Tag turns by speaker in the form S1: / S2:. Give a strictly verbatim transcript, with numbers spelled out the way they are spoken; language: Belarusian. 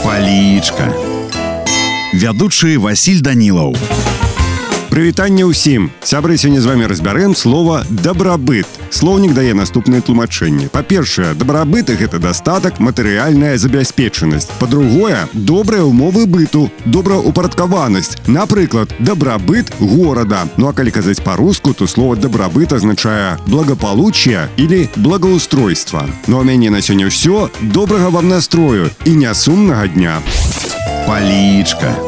S1: Палічка. Вядучы Васіль Данілаў.
S2: Прывітанне ўсім. Сябры, сёння з вами разбярем слова «дабрабыт». Слоўнік дае наступнае тлумачэнне. Па-першае, дабрабыт – гэта дастатак, матэрыяльная забяспечанасць. Па-другое, добрыя ўмовы быту, добраўпарадкаванасць. Напрыклад, дабрабыт горада. Ну а калі казаць па-руску, то слово «дабрабыт» азначае благополучие или благоустройство. Ну а ў мяне на сёння ўсё. Добрага вам настрою і нясумнага дня.
S1: Палічка.